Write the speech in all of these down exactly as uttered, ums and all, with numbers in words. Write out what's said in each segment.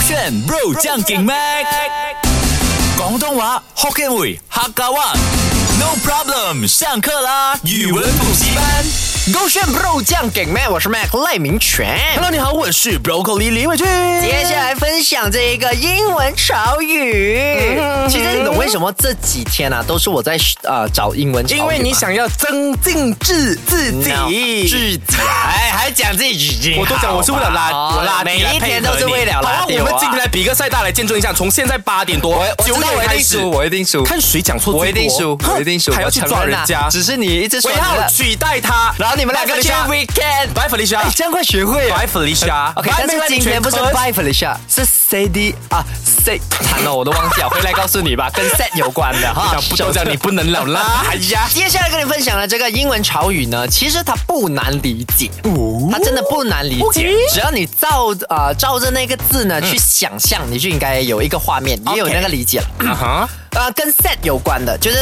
炫 bro 將勁 mac 廣東話 Hokkien 會客家話 No problem 上課啦語文補習班勾炫 bro 醬給 Mac， 我是 Mac 賴明全。 Hello， 你好，我是 Broccoli 李偉俊。 接下來分享這一個英文潮語。嗯、其實你懂為什麼這幾天啊，都是我在呃找英文潮語嗎？ 因為你想要增進自自己， no, 自己，哎，還講自己， 我都講我是為了拉，我拉每一天都是為了拉。 好，我們今天來比個賽，大家來見證一下，從現在八點多九點開始， 我一定輸， 看誰講錯， 我一定輸，我一定輸， 還要去抓人家， 只是你一直說我要取代他， 然後你們兩個去 weekend。Bye Felicia， 哎，這樣快學會了。 Bye Felicia，OK， 但是今天不是 Bye Felicia， 是 Sadie 啊 ，Sad， 慘了，我都忘記了，回來告訴你吧，跟 Sad 有關的哈。 不都講你不能了啦，哎呀。 接下來跟你分享的這個英文潮語呢，其實它不難理解，哦、它真的不難理解， okay? 只要你照呃照着那個字呢、嗯、去想象，你就應該有一個畫面，也有那個理解了。啊哈。呃，跟 sad 有關的，就是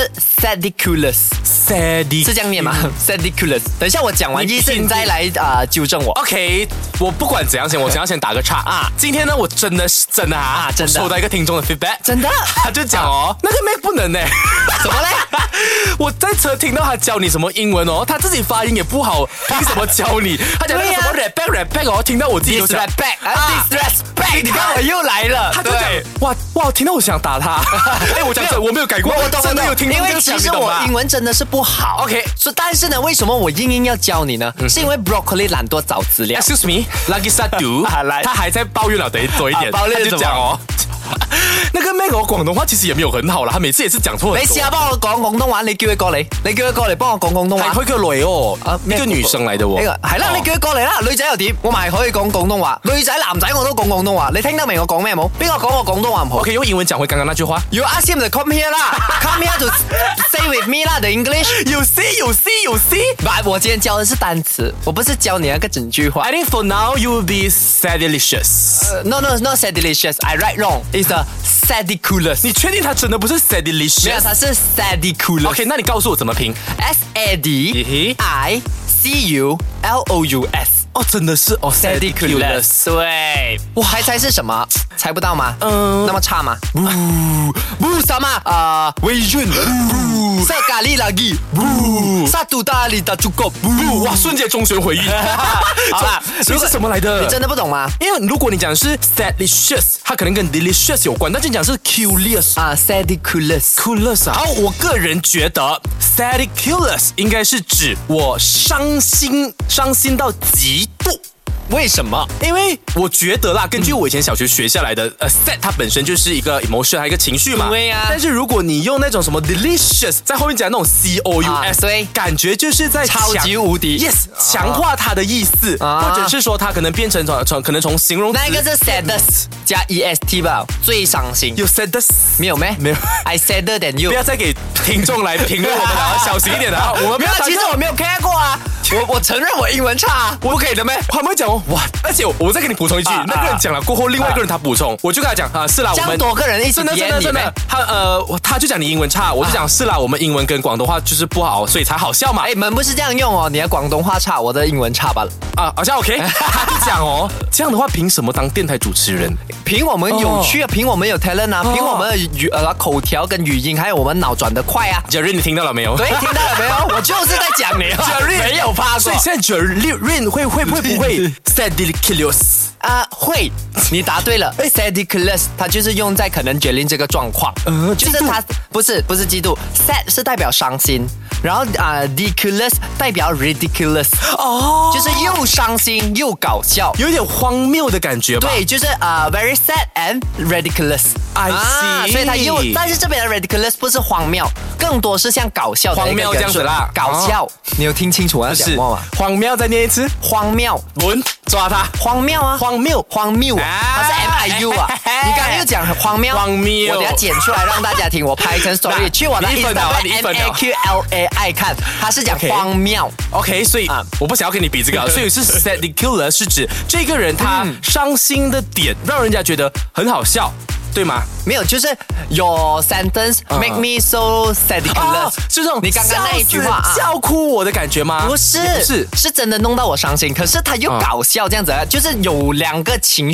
sadiculous，sad 是這樣念嗎 ？sadiculous。等一下我講完意思，你再來啊、呃、糾正我。 OK， 我不管怎樣先，我想要先打個岔啊。今天呢，我真的是真的啊，啊真的收到一個聽眾的 feedback， 真的， 他就講哦，啊、那個 Mac 不能呢， 怎麼嘞？ 我在車聽到他教你什麼英文哦，他自己發音也不好，憑什麼教你？他講那個什麼 respect respect 哦，聽到我自己都想 respect 啊 disrespect， 你看我又來了， 他就講哇哇，聽到我想打他，哎，我講。我沒有改過，我真的有聽過。 因為其實我英文真的是不好。 OK， 所以但是呢，為什麼我硬硬要教你呢？嗯、是因為 Broccoli 懶惰找資料。 Excuse me，Lucky Sadu， 他還在抱怨了，等多一點， 抱怨就講哦。那個 Mac 我廣東話其實也沒有很好啦，他每次也是講錯。 你試下幫我講廣東話，你叫佢過嚟，你叫佢過嚟幫我講廣東話。 佢叫女哦，一個女生嚟的喎。 係啦，你叫佢過嚟啦，女仔又點？我咪可以講廣東話，女仔男仔我都講廣東話。你聽得明我講咩冇？邊個講我廣東話唔好？ 我可以用英文講回剛剛那句話。 You ask him to come here 啦，come here to stay with me 啦，the English。 有 see 有 see 有 see。 But 我今天教的是單詞，我不是教你那個整句話。 I think for now you will be sadilicious。No no not sadilicious. I write wrong. It's a sadiculous。 你確定它真的不是 sadilicious？ 沒有，它是 sadiculous。 OK， 那你告訴我怎麼拼 ？S A D I C U L O U S。 哦，真的是哦 ，sadiculous。 對，哇，猜猜是什麼？猜不到嗎？嗯，那麼差嗎？不不什麼？啊，微潤。不，色咖喱垃圾。不，沙杜大里大豬狗。 不，哇，瞬間中學回憶。好啦，所以是什麼來的？ 你真的不懂嗎？ 因為如果你講的是 sadilicious， 它可能跟 delicious 有關，但是你講是 curious 啊 ，sadiculous，culous 啊。好，我個人覺得 sadiculous 應該是指我傷心，傷心到極度。 為什麼？ 因為我覺得啦，根據我以前小學學下來的，呃 sad 它本身就是一個 emotion， 還有一個情緒嘛。 對啊。 但是如果你用那種什麼 delicious， 在後面講那種 C O U S， 對， 感覺就是在超級無敵 ，yes， 強化它的意思，或者是說它可能變成從從可能從形容詞。 那個是 saddest 加 E S T 吧，最傷心。 有 saddest 沒有咩？ 沒有。 I sadder than you。 不要再給聽眾來評論我們了，小心一點的啊！我們沒有，其實我沒有看過啊。我我承認我英文差，我不可以的咩？ 他們會講哦，哇！而且我再給你補充一句，啊、那個人講了過後，另外一個人他補充，啊、我就跟他講啊，是啦，我們多個人一起真的真的真的，他呃，他就講你英文差，我就講、啊、是啦，我們英文跟廣東話就是不好，所以才好笑嘛。 哎，你們不是這樣用哦，你的廣東話差，我的英文差吧？ 啊，好像 OK。他就講哦，這樣的話憑什麼當電台主持人？ 憑我們有趣啊，憑我們有 talent 啊，憑我們的語呃口條跟語音，還有我們腦轉得快啊。 Jerry， 你聽到了沒有？ 對，聽到了沒有？我就是在講你。Jerry 沒有發過。 所以現在 Jerry 會會會不會 sadilicious？ 啊，會，你答對了。sadiculous 它就是用在可能Jerry這個狀況，呃，就是它不是不是嫉妒 ，sad 是代表傷心，然後啊 ridiculous 代表 ridiculous， 哦，就是又傷心又搞笑， 有點荒謬的感覺吧？ 對，就是啊、uh, very sad and ridiculous。I see， 所以它又，但是這邊的 ridiculous 不是荒謬，更多是像搞笑的荒謬這樣子啦， 搞笑。哦、你有聽清楚我要講什麼嗎？ 荒謬再念一次， 荒謬， 輪抓他， 荒謬啊， 荒謬， 荒謬啊，它是 M I U 啊，你剛剛又講很荒謬， 荒謬， 我等下剪出來讓大家聽，我拍成 story 去我的 Instagram M A Q L A I 看，它是講荒謬 ，OK， 所以、嗯、我不想要跟你比這個，所以是 sadiculous 是指這個人他傷心的點讓人家覺得很好笑。對嗎？ 沒有，就是 your sentence make me so sadiculous，、啊、 就這種你剛剛那一句話啊， 笑哭我的感覺嗎？ 不是， 不是， 是真的弄到我傷心，可是他又搞笑這樣子，啊、就是有兩個情緒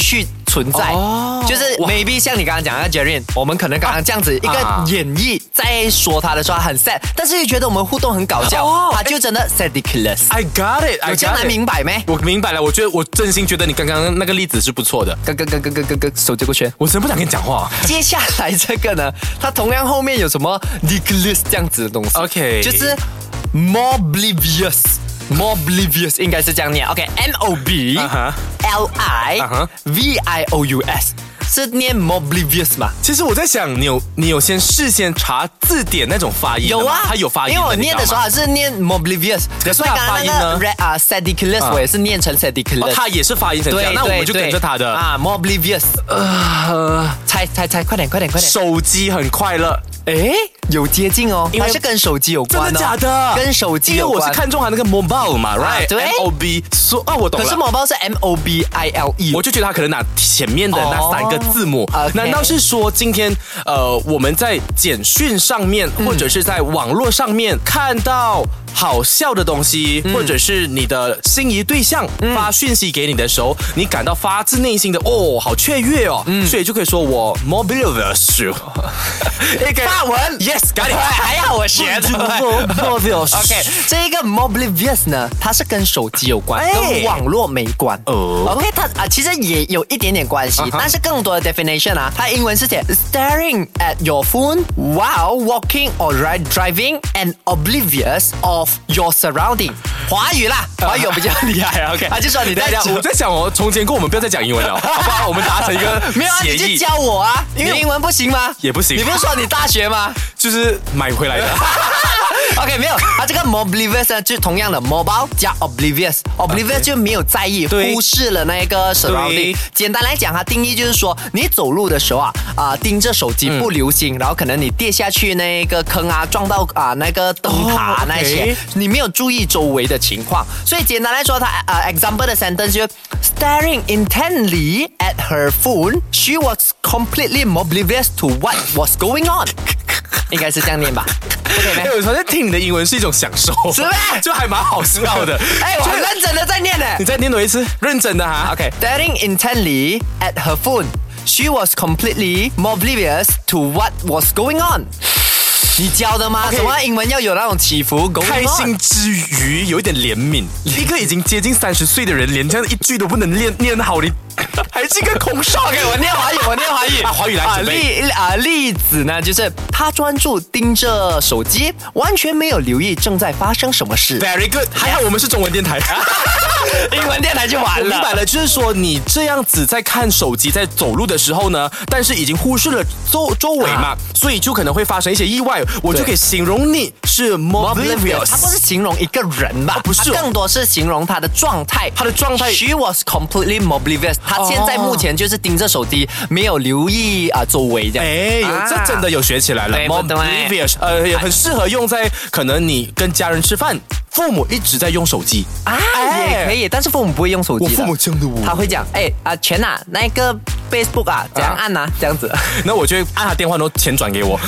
存在， 哦就是 maybe 像你刚刚讲的 Jerry， 我们可能刚刚这样子一个演绎，在说他的时候很 sad， 但是又觉得我们互动很搞笑， 哦他就真的 ridiculous。I got it， 有这样难明白没？ 我明白了，我觉得我真心觉得你刚刚那个例子是不错的。 咯咯咯咯咯咯咯，手接过去。 我真不想跟你讲话。 接下来这个呢，它同样后面有什么 ridiculous 这样子的东西 ？OK， 就是 more oblivious。more oblivious 应该是这样念 ，OK，M O B L I V I O U S。是念 more oblivious 嘛？ 其实我在想，你有你有先事先查字典那种发音有啊， 它有发音的， 因为我念的时候还是念 more oblivious， 可是它发音呢？ 啊 ridiculous 我也是念成 ridiculous， 它也是发音成这样，那我们就跟着它的啊 more oblivious。呃，猜猜猜，快点快点快点！ 手机很快乐。 诶，有接近哦，它是跟手机有关的。 真的假的？ 跟手机有关。 因为我是看中它那个 mobile 嘛 ，right？ 对 ，M O B， 说啊，我懂了。 可是 mobile 是 M O B I L E， 我就觉得它可能拿前面的那三个字母。难道是说今天呃我们在简讯上面，或者是在网络上面看到好笑的东西，或者是你的心仪对象发讯息给你的时候，你感到发自内心的哦，好雀跃哦，所以就可以说我 mobilous。 法文 ，yes，got it， 还好我学的。 mobilous。 OK， 这一个 mobilous 呢，它是跟手机有关，跟网络没关。 哦 ，OK， 它啊其实也有一点点关系，但是更多的 definition 啊，它英文是写 staring at your phone while walking or driving and oblivious of your surrounding。华语啦，华语我比较厉害。OK， 啊就说你在讲，我在想哦，从前跟我们不要再讲英文了，好不好？我们达成一个没有啊，你就教我啊，因为英文不行吗？ 也不行。 你不是说你大学吗？ 就是买回来的。 OK， 没有，它这个 oblivious 呢，就同样的 mobile 加 oblivious，oblivious 就没有在意，忽视了那个 surrounding。简单来讲，它定义就是说，你走路的时候啊，啊、呃、盯着手机不留心，嗯、然后可能你跌下去那个坑啊，撞到啊、呃、那个灯塔、oh, okay. 那些，你没有注意周围的情况。所以简单来说，它呃 example 的 sentence 就 staring intently at her phone, she was completely oblivious to what was going on。应该是这样念吧。 哎、欸，我发现听你的英文是一种享受， 是吗？ 就还蛮好笑的。 哎、欸，我很认真的在念呢。 你再念多一次，认真的哈。 OK，staring intently at her phone, she was completely oblivious to what was going on。你教的吗？ Okay, 什么英文要有那种起伏？ 开心之余有一点怜悯。一个已经接近三十岁的人，连这样一句都不能念念好，你还是一个空少。 OK， 我念华语，我念华语。 啊，华语来准备。 例啊例子呢，就是他专注盯着手机，完全没有留意正在发生什么事。 Very good， 还好我们是中文电台。 英文电台就完了。 我明白了，就是说你这样子在看手机，在走路的时候呢，但是已经忽视了周周围嘛、啊，所以就可能会发生一些意外。我就可以形容你是 oblivious。 它不是形容一个人吧？ 哦、不是、哦， 它更多是形容他的状态。 他的状态 ，She was completely oblivious。他现在目前就是盯着手机，没有留意啊周围这样。 哎，有、啊、这真的有学起来了 ，oblivious， 呃，也很适合用在可能你跟家人吃饭。父母一直在用手机啊，也可以，但是父母不会用手机的。 我父母这样的我， 他会讲，哎啊，钱啊，那个 Facebook 啊，怎样按啊，这样子。 那我就按他电话，然后钱转给我。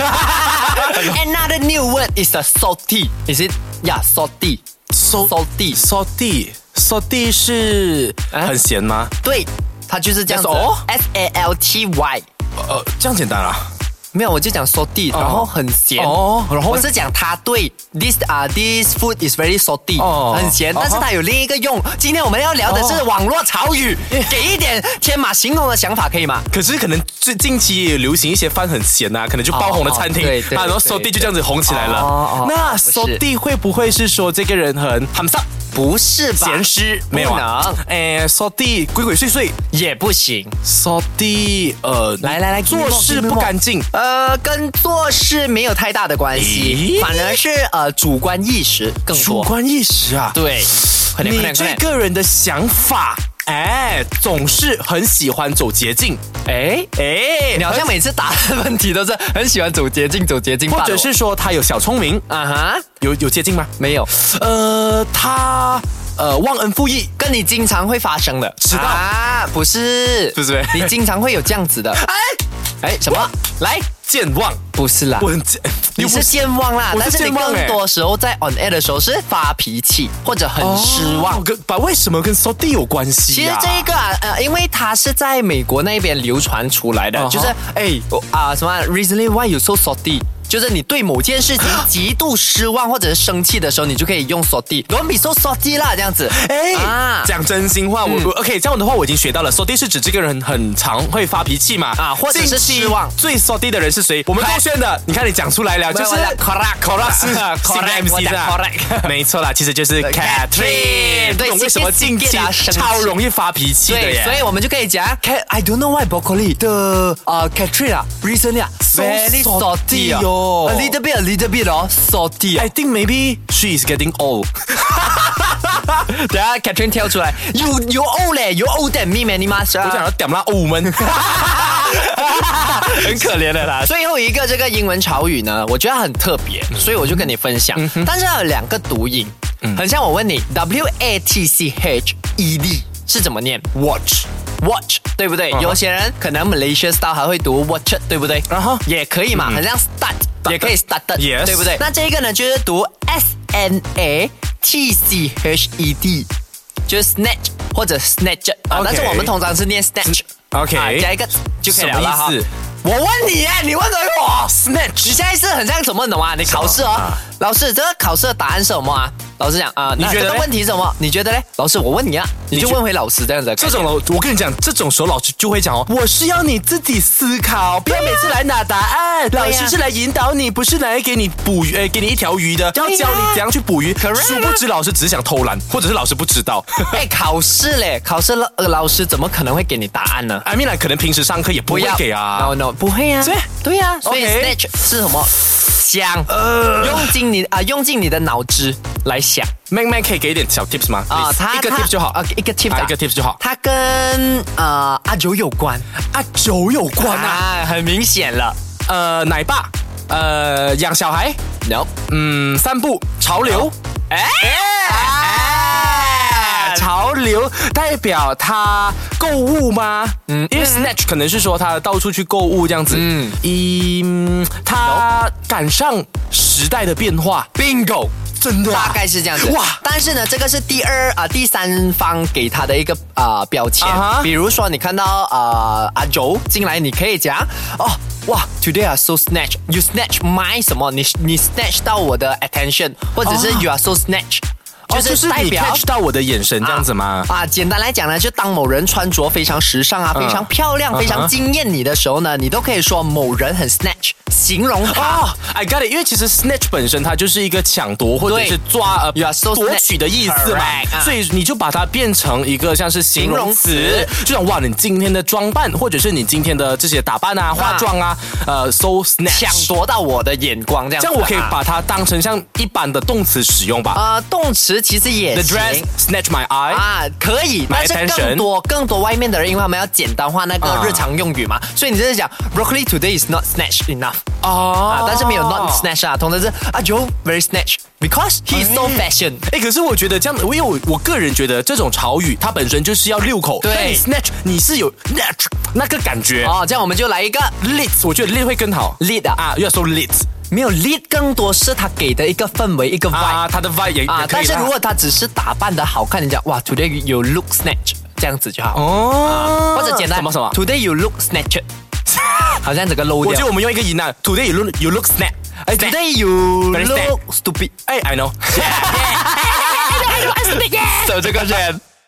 Another new word is a salty. Is it? Yeah, salty. Salty, salty, salty 是很咸吗？ 对，它就是这样子。哦 ，S A L T Y。 呃，这样简单啊。 没有，我就讲 salty，、哦、然后很咸。哦，然后我是讲它对 this 啊、uh, this food is very salty，、哦、很咸，但是它有另一个用。今天我们要聊的是网络潮语，哦、给一点天马行空的想法可以吗？ 可是可能最近期也流行一些饭很咸啊，可能就爆红的餐厅、哦、对对对啊，然后 salty 就这样子红起来了。哦、那 salty 会不会是说这个人很很上？ 不是吧？ 咸湿没有啊？哎 ，salty 鬼鬼祟祟也不行。 salty 呃， 来来来， 做事不干净。 呃，跟做事没有太大的关系，反而是呃主观意识更多。 主观意识啊， 对，快点快点！你这个人的想法，哎，总是很喜欢走捷径。 哎哎，你好像每次答的问题都是很喜欢走捷径，走捷径， 或者是说他有小聪明啊哈？ 有有捷径吗？ 没有。 呃，他呃忘恩负义， 跟你经常会发生的。 迟到啊？不是， 不是， 你经常会有这样子的。哎哎，什么？来， 健忘？ 不是啦。 我很你是健忘啦， 我是但是你健忘欸更多时候在 on air 的时候是发脾气或者很失望。 哦跟把为什么跟 salty 有关系其实呀？ 这一个啊，呃，因为它是在美国那边流传出来的嗯哼就是哎啊、什么 recently why you so salty。就是你对某件事情极度失望或者是生气的时候，你就可以用 salty。Don't be so salty 啦，这样子。 哎， 啊讲真心话，我我 OK，这样的话我已经学到了。salty 是指这个人很常会发脾气嘛， 啊或者是失望近期最 salty 的人是谁？我们勾选的，你看你讲出来了，就是 correct correct 是 correct M C 的 correct 没错啦，其实就是 Catherine。 对不懂为什么近期超容易发脾气的对， 耶？ 所以我们就可以讲 Cat I don't know why broccoli the 呃 Catherine 啊 recently 啊 So very salty salty 哦哦 a little bit a little bit 哦 salty 啊 I think maybe she is getting old。 等下 Catherine 跳出来 You you old 嘞 You old than me man 你妈我讲要点啦，欧们。 很可怜的啦。最后一个这个英文潮语呢，我觉得很特别，所以我就跟你分享。但是它有两个读音，很像我问你 W A T C H E D 是怎么念 Watch。 ？Watch 对不对？有些人可能 Malaysia style 还会读 watch， 对不对？ 然后也可以嘛，很像 start 也可以 started， Yes 对不对？那这一个呢，就是读 S N A T C H E D， 就是 snatch 或者 snatch 啊， OK 但是我们通常是念 snatch。 OK 啊，加一个就可以了啦哈什么意思？ 我问你耶，你问的我 snatch， 你现在是很像什么，你懂吗？你考试哦，老师，这个考试的答案是什么啊？老师讲啊， 你觉得嘞那这个问题是什么？你觉得嘞？老师，我问你啊，你就觉问回老师这样子的概念。 这种我跟你讲，这种时候老师就会讲哦，我是要你自己思考，不要每次来拿答案。 对呀老师是来引导你，不是来给你捕鱼，呃，给你一条鱼的，要教你怎样去捕鱼。 Correct 殊不知老师只是想偷懒，或者是老师不知道。 哎，考试嘞，考试老呃老师怎么可能会给你答案呢？ I mean，平时上课也不会给啊。 ，no no，不会啊， 对对呀，所以 OK snatch 是什么？想，用尽你啊，用尽你的脑汁来想。 妹妹可以给一点小 tips 吗？ 啊， Please 他一个他 tips 就好啊，一个 tips，、啊、 啊一个 tips 就好。 它跟呃阿九有关啊，酒有关啊， 啊，很明显了。 呃，奶爸，呃，养小孩， No， 嗯，散步，潮流。 哎哎，潮流代表他购物吗？嗯，因为 snatch 可能是说他到处去购物这样子。嗯，一嗯他赶上时代的变化。 ，bingo。 真的、啊， 大概是这样子哇！ 但是呢，这个是第二啊、第三方给他的一个啊、标签。 啊哈比如说，你看到啊、阿周进来，你可以讲哦，哇 ，Today are so snatch, you snatch my 什么？你你 snatch 到我的 attention，或者是哦 you are so snatch，、 哦就是你代表 catch 到我的眼神这样子吗？ 啊，简单来讲呢，就当某人穿着非常时尚啊， 嗯非常漂亮、 嗯哼非常惊艳你的时候呢，你都可以说某人很 snatch，形容他。 哦、I got it， 因为其实 snatch 本身它就是一个抢夺或者是抓呃 You are so 夺取的意思嘛 Correct，啊所以你就把它变成一个像是形容词， 形容词就像哇，你今天的装扮或者是你今天的这些打扮啊、化妆啊，呃，so snatch， 抢夺到我的眼光，这样子啊。 这样我可以把它当成像一般的动词使用吧。 呃，动词其实也 The 行 dress snatch my eye，、 啊，可以， My 但是 attention 更多更多外面的人，因为他们要简单化那个啊日常用语嘛，所以你就是讲 broccoli today is not snatch enough 哦啊，但是没有 not snatch 啊，通常是啊 Joe very snatch because he is so fashion。 哎，可是我觉得这样，因为我我个人觉得这种潮语它本身就是要溜口， 对但你 snatch 你是有 snatch 那个感觉。 哦，这样我们就来一个 lit， 我觉得 lit 会更好 lead 啊， 啊，要说 lit 没有 lead 更多是他给的一个氛围，一个 vibe 啊，它的 vibe 也啊也，可以啦但是如果他只是打扮的好看，你讲哇 today you look snatch 这样子就好， 哦， 或者简单什么什么， today you look snatched， 好像整个 low 掉。 我觉得我们用一个音啊 ，today you look you look snap，哎 Today you Very look stupid， 哎 I know， 走这个人。